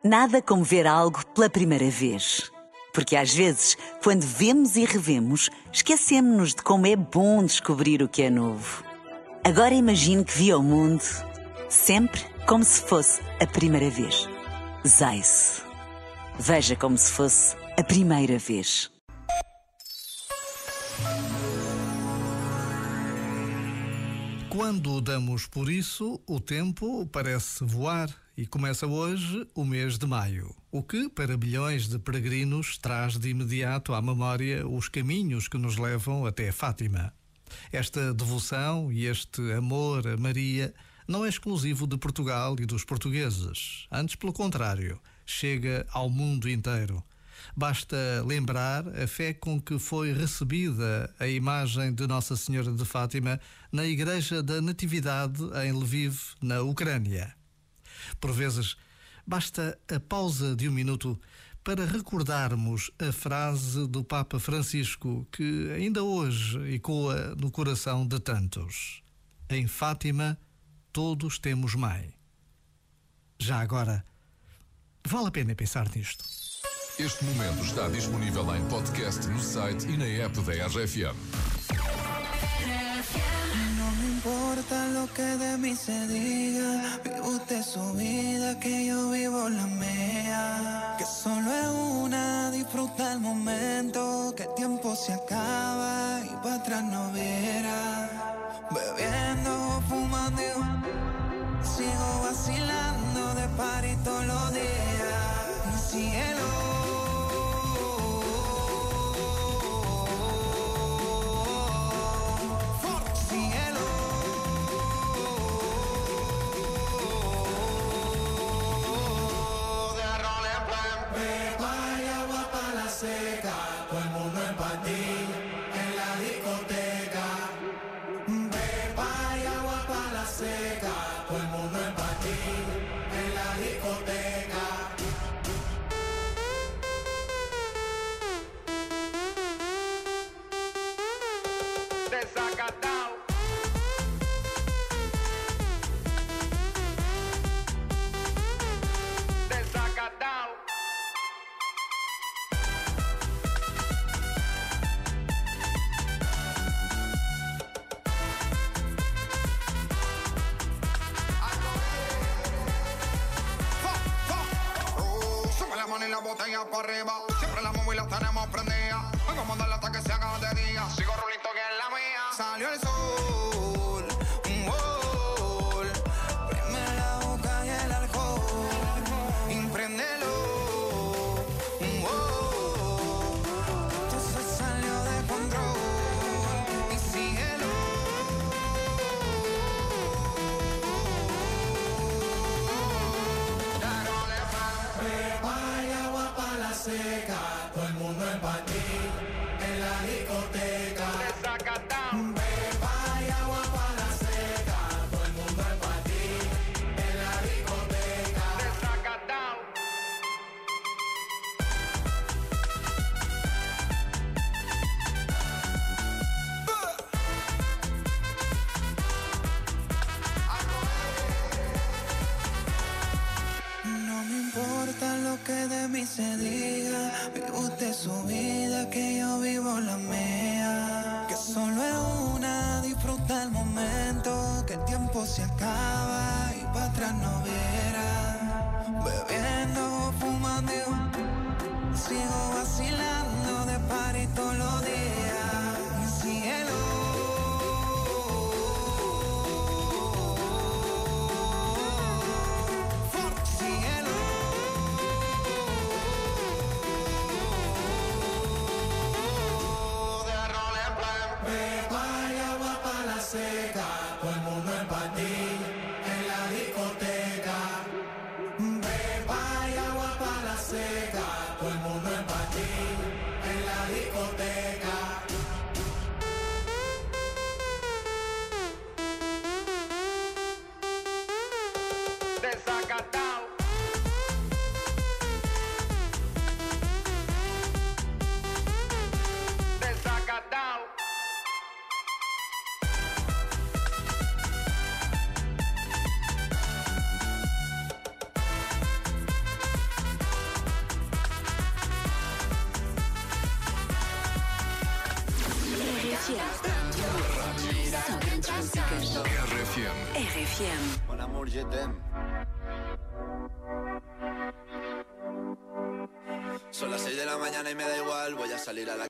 Nada como ver algo pela primeira vez. Porque às vezes, quando vemos e revemos, esquecemos-nos de como é bom descobrir o que é novo. Agora imagine que viu o mundo sempre como se fosse a primeira vez. Zais. Veja como se fosse a primeira vez. Quando damos por isso, o tempo parece voar e começa hoje o mês de maio, o que, para milhões de peregrinos, traz de imediato à memória os caminhos que nos levam até Fátima. Esta devoção e este amor a Maria não é exclusivo de Portugal e dos portugueses. Antes, pelo contrário, chega ao mundo inteiro. Basta lembrar a fé com que foi recebida a imagem de Nossa Senhora de Fátima na Igreja da Natividade em Lviv, na Ucrânia. Por vezes, basta a pausa de um minuto para recordarmos a frase do Papa Francisco que ainda hoje ecoa no coração de tantos. Em Fátima, todos temos mãe. Já agora, vale a pena pensar nisto. Este momento está disponível em podcast no site e na app da RFM. No me importa lo que de mí se diga, vive usted su vida, que yo vivo la mía. Que solo es una, disfruta el momento, que el tiempo se acaba y para atrás no verá. Bebiendo, fumando, sigo vacilando de party todos los días. Mi cielo. Todo el mundo en patín, en la discoteca. Beba y agua pa' la seca. Todo el mundo en patín, en la discoteca. Desacatao. Desacatao. Y la botella para arriba, siempre la móvil la tenemos prendida. Vengo a mandarla hasta que se haga de día. Sigo rulito que es la mía. Salió el sol, un gol. Prime la boca y el alcohol. Impréndelo, un gol. Esto se salió de control. Y síguelo. Seca, todo el mundo en patín, en la discoteca. Beba y agua pa' la seca, todo el mundo en patín, en la discoteca. No me importa lo que de mí se diga, vive usted su vida, que yo vivo la mía. Que solo es una, disfruta el momento, que el tiempo se acaba y para atrás no verá. Bebiendo, fumando, sigo vacilando de party todos los días. Mi cielo. Seca, todo el mundo en patín, en la discoteca. Beba y agua pa' la seca, todo el mundo en patín, en la discoteca. Só grandes músicas. RFM. RFM. Mon amour, je t'aime. Son las 6 de la mañana y me da igual, voy a salir a la